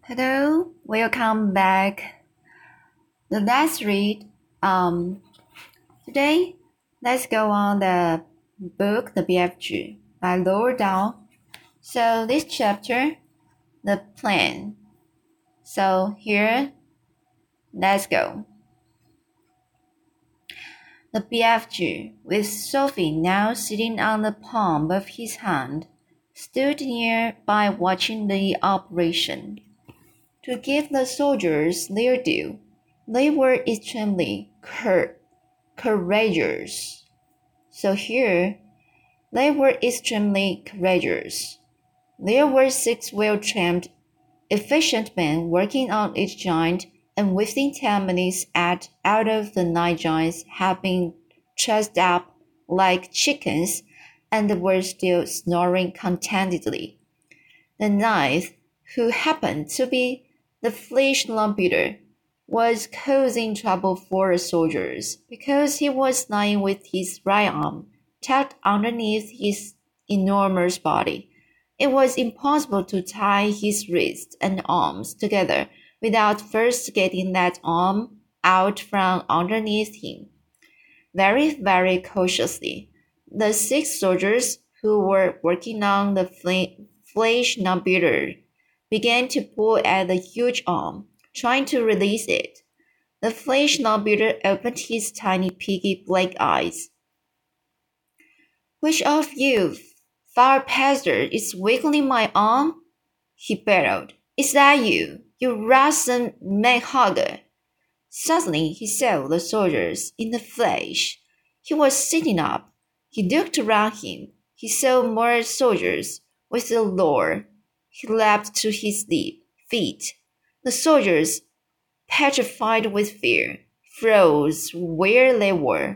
Hello, welcome back. Let's read. Today, let's go on the book The BFG by Lower Down. So this chapter, the plan. So here, let's go. The BFG, with Sophie now sitting on the palm of his hand, stood near by watching the operation. To give the soldiers their due, they were extremely courageous. So here, they were extremely courageous. There were 6 well-trained, efficient men working on each joint, and within 10 minutes out of the 9 joints had been trussed up like chickens and were still snoring contentedly. The ninth, who happened to be the flesh lampeter, was causing trouble for the soldiers because he was lying with his right arm tucked underneath his enormous body. It was impossible to tie his wrists and arms together without first getting that arm out from underneath him. Very, very cautiously, the 6 soldiers who were working on the flesh lampeter began to pull at the huge arm, trying to release it. The flesh lampeter opened his tiny piggy black eyes. Which of you, far pastor, is wiggling my arm? He bellowed. Is that you, you Russian man-hugger? Suddenly he saw the soldiers in the flesh. He was sitting up. He looked around him. He saw more soldiers. With a roar, he leapt to his feet. The soldiers, petrified with fear, froze where they were.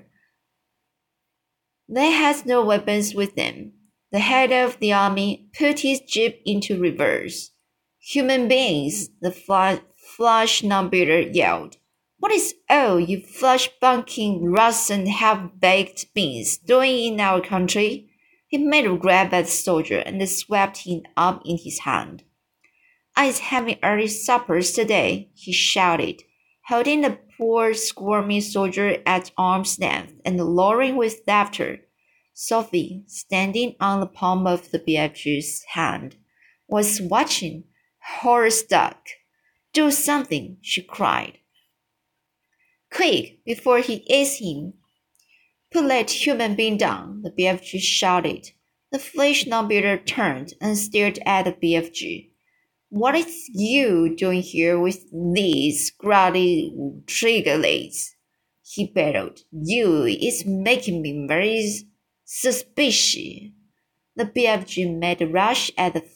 They had no weapons with them. The head of the army put his jeep into reverse. Human beings, the flush lampeter yelled. What is all you flush-bunking Russian half-baked beans doing in our country? He made a grab at the soldier and swept him up in his hand. I's having early suppers today, he shouted, holding the poor squirming soldier at arm's length and roaring with laughter. Sophie, standing on the palm of the BFG's hand, was watching, horror-struck. Do something, she cried. Quick, before he eats him. Put that human being down, the BFG shouted. The flesh lampeter turned and stared at the BFG. What is you doing here with these grotty triggerlets? He bellowed. You is making me very suspicious. The BFG made a rush at the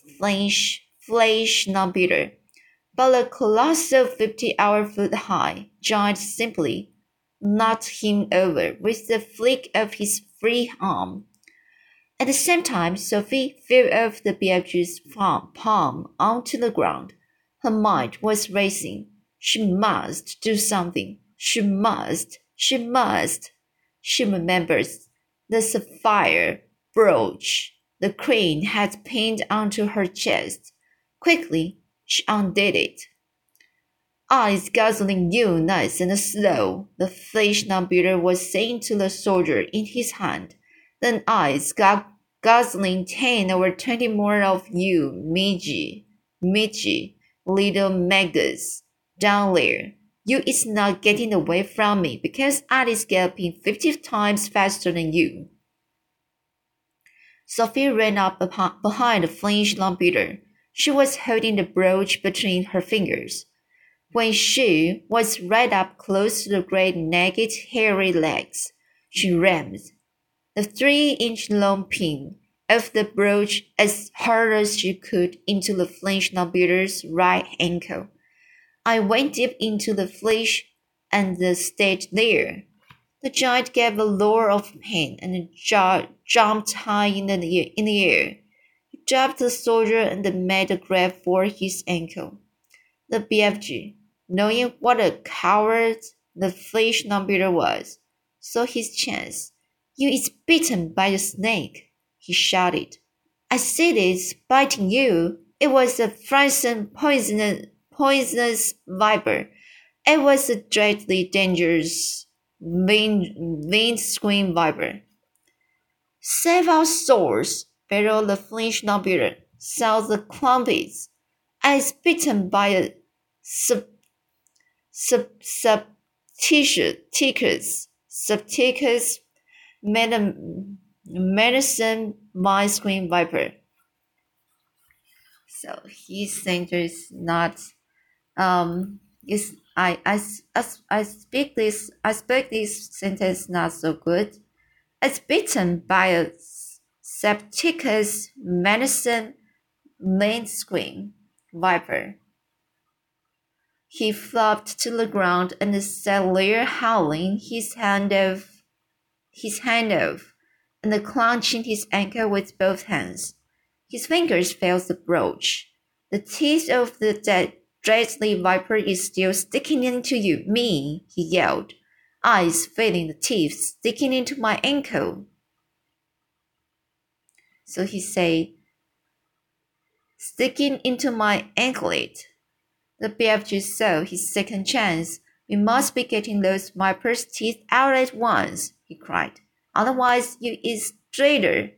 flesh lampeter, but the colossal 50-foot-high giant simply knocked him over with the flick of his free arm. At the same time, Sophie fell off the BFG's palm onto the ground. Her mind was racing. She must do something. She must. She remembers the sapphire brooch the crane had pinned onto her chest. Quickly, she undid it. Eyes guzzling you nice and slow, the flesh lampeter was saying to the soldier in his hand. Then eyes guzzling 10 or 20 more of you, Midgy, little maggots, down there. You is not getting away from me because I is galloping 50 times faster than you. Sophie ran up behind the flesh lampeter. She was holding the brooch between her fingers. When she was right up close to the great naked hairy legs, she rammed the 3-inch long pin of the brooch as hard as she could into the flesh lampeter's right ankle. I went deep into the flesh and stayed there. The giant gave a roar of pain and jumped high in the air. He dropped the soldier and made a grab for his ankle. The BFG, knowing what a coward the flesh lampeter was, saw his chance. You is bitten by a snake, he shouted. I said it's biting you. It was a frozen poisonous viper. It was a dreadfully dangerous windscreen viper. Save our souls, bellowed the Flemish navigator, south the Crumpets. I was bitten by a subticus medicine windscreen viper. So his sentence is not is I speak this sentence not so good. It's bitten by a Septicus medicine windscreen viper. He flopped to the ground and sat there howling his hand off, and clenching his ankle with both hands. His fingers felt the brooch. The teeth of the deadly viper is still sticking into you, me, he yelled, eyes feeling the teeth sticking into my ankle. So he said, sticking into my anklet. The BFG saw his second chance. We must be getting those viper's teeth out at once, he cried. Otherwise, you is straighter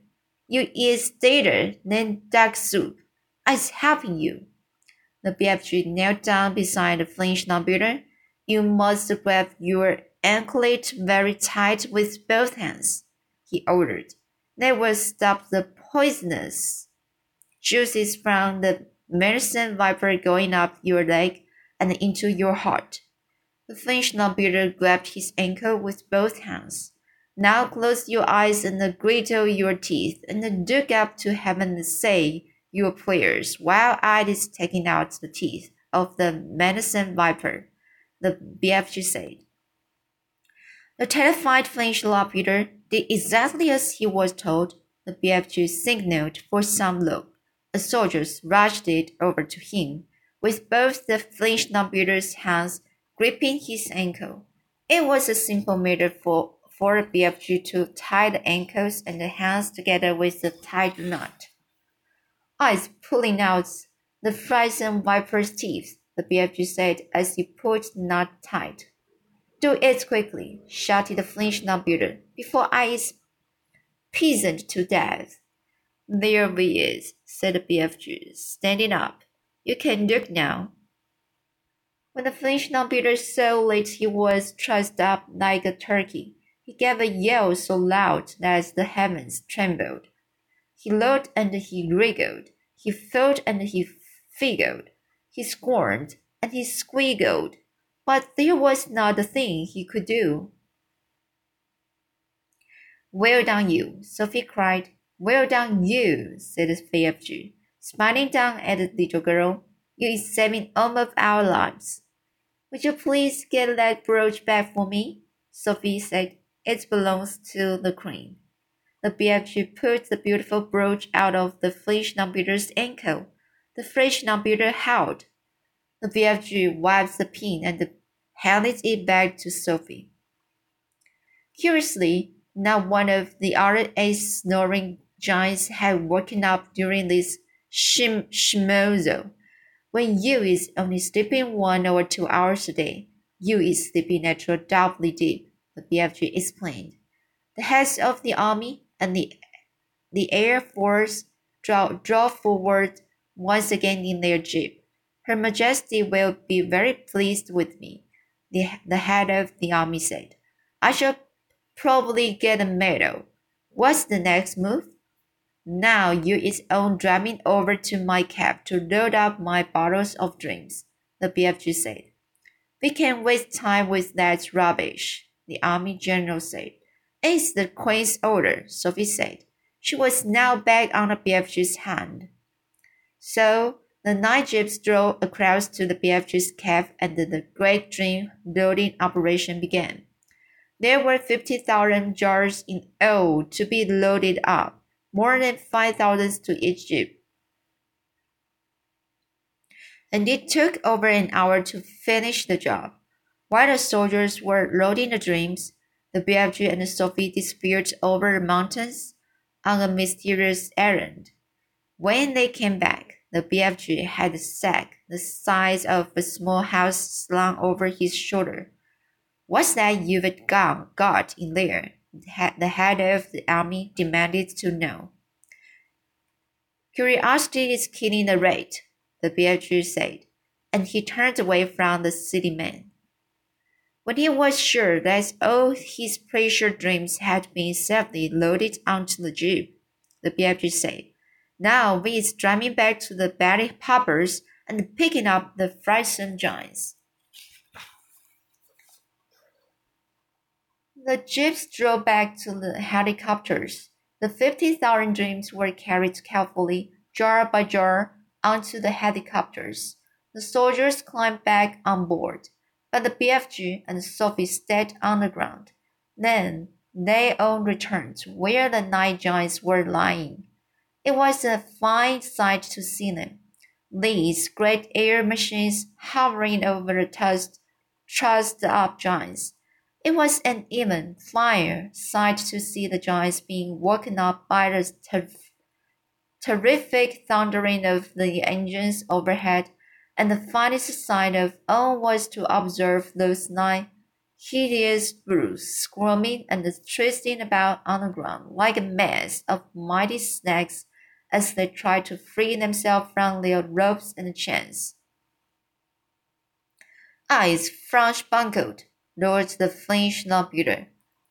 than duck soup. I's helping you. The BFG knelt down beside the Flemish navigator. You must grab your anklet very tight with both hands, he ordered. That will stop the poisonous juices from the medicine viper going up your leg and into your heart. The Flemish navigator grabbed his ankle with both hands. Now close your eyes and grittle your teeth and look up to heaven and say your prayers while I is taking out the teeth of the medicine viper, the BFG said. The terrified Flemish navigator did exactly as he was told. The BFG signaled for some look. The soldiers rushed it over to him, with both the Flemish navigator's hands gripping his ankle. It was a simple matter for a BFG to tie the ankles and the hands together with a tight knot. Eyes pulling out the frightened viper's teeth, the BFG said as he pulled the knot tight. Do it quickly, shouted the Flemish navigator, before I is poisoned to death. There we is, said the BFG, standing up. You can look now. When the Flemish navigator saw that he was trussed up like a turkey, he gave a yell so loud that the heavens trembled. He looked and he wriggled. He felt and he figgled. He squirmed and he squiggled. But there was not a thing he could do. Well done, you, Sophie cried. Well done, you, said the BFG, smiling down at the little girl. You is saving all of our lives. Would you please get that brooch back for me? Sophie said. It belongs to the queen. The BFG put the beautiful brooch out of the Flemish navigator's ankle. The Flemish navigator howled. The BFG wiped the pin and handed it back to Sophie. Curiously, not one of the other 8 snoring giants had woken up during this schmozo. When you is only sleeping 1 or 2 hours a day, you is sleeping at your doubly deep, the BFG explained. The heads of the army and the Air Force drove forward once again in their jeep. Her Majesty will be very pleased with me, the head of the army said. I shall probably get a medal. What's the next move? Now you is on driving over to my cab to load up my bottles of drinks, the BFG said. We can't waste time with that rubbish, the army general said. It's the Queen's order, Sophie said. She was now back on the BFG's hand. So the 9 jeeps drove across to the BFG's cab and the great drink loading operation began. There were 50,000 jars in all to be loaded up, more than 5,000 to each jeep. And it took over an hour to finish the job. While the soldiers were loading the drinks, the BFG and Sophie disappeared over the mountains on a mysterious errand. When they came back, The BFG had a sack the size of a small house slung over his shoulder. What's that you've got in there? The head of the army demanded to know. Curiosity is killing the rat, the BFG said, and he turned away from the city man. When he was sure that all his precious dreams had been safely loaded onto the jeep, the BFG said, now we is driving back to the Betty Poppers and picking up the frightened giants. The jeeps drove back to the helicopters. The 50,000 dreams were carried carefully, jar by jar, onto the helicopters. The soldiers climbed back on board, but the BFG and Sophie stayed on the ground. Then they all returned to where the night giants were lying. It was a fine sight to see them. These great air machines hovering over the trussed-up giants. It was an even finer sight to see the giants being woken up by the terrific thundering of the engines overhead, and the finest sight of all was to observe those nine hideous brutes squirming and twisting about on the ground like a mass of mighty snakes as they tried to free themselves from their ropes and chains. Eyes bungled, roared the French Navigator.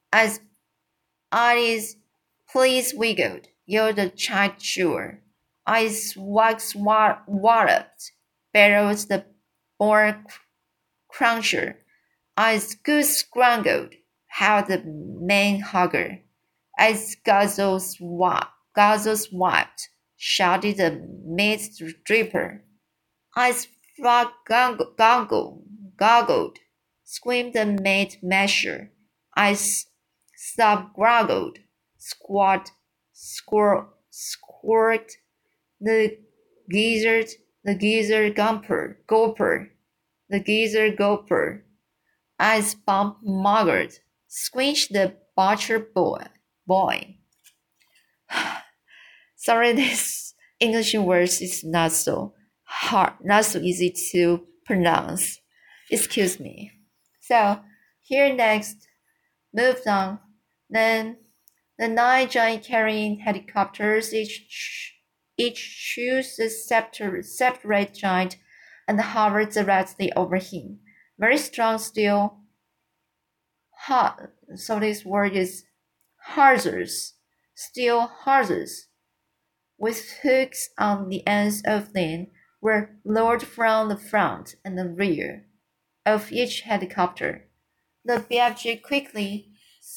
Eyes please wiggled, yelled the charger. Eyes walloped, bellowed the boar cruncher. Eyes goose grungled, howled the man hugger. Eyes guzzles wiped, shouted the meat dripper. Eyes frog goggled, screamed the maid masher. Eyes groggled, squawked the geezer gulper. Eyes bump muggered, squinched the butcher boy. Sorry, this English words is not so hard, not so easy to pronounce. Excuse me. So, here next, moved on. Then, the nine giant carrying helicopters each chose a separate giant and hovered directly over him. Very strong steel. So this word is hawsers. Steel hawsers, with hooks on the ends of them, were lowered from the front and the rear of each helicopter. The BFG quickly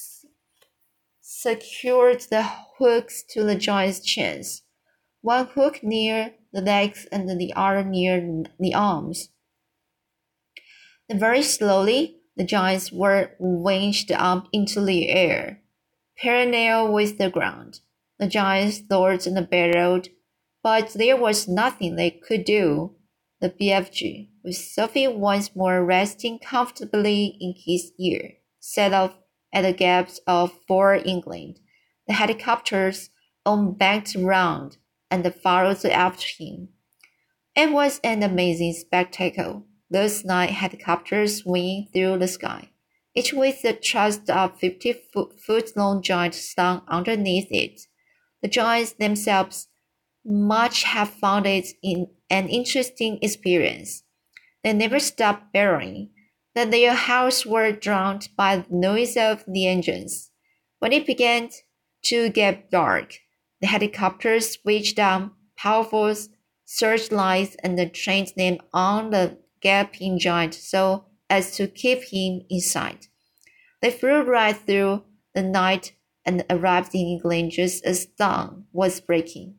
secured the hooks to the giant's chains, one hook near the legs and the other near the arms. Then very slowly, the giants were winched up into the air, parallel with the ground. The giants roared and bellowed, but there was nothing they could do. The BFG, with Sophie once more resting comfortably in his ear, set off at the gaps of Fort England. The helicopters all banked round and followed after him. It was an amazing spectacle. Those nine helicopters winging through the sky, each with a trussed-up 50-foot-long giant slung underneath it. The giants themselves must have found it an interesting experience. They never stopped bellowing, that their howls were drowned by the noise of the engines. When it began to get dark, the helicopters switched on powerful searchlights and trained them on the gaping giant so as to keep him in sight. They flew right through the night and arrived in England just as dawn was breaking.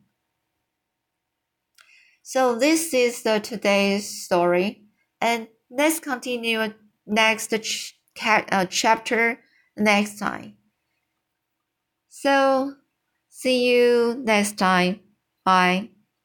So this is today's story, and let's continue next chapter next time. So see you next time. Bye.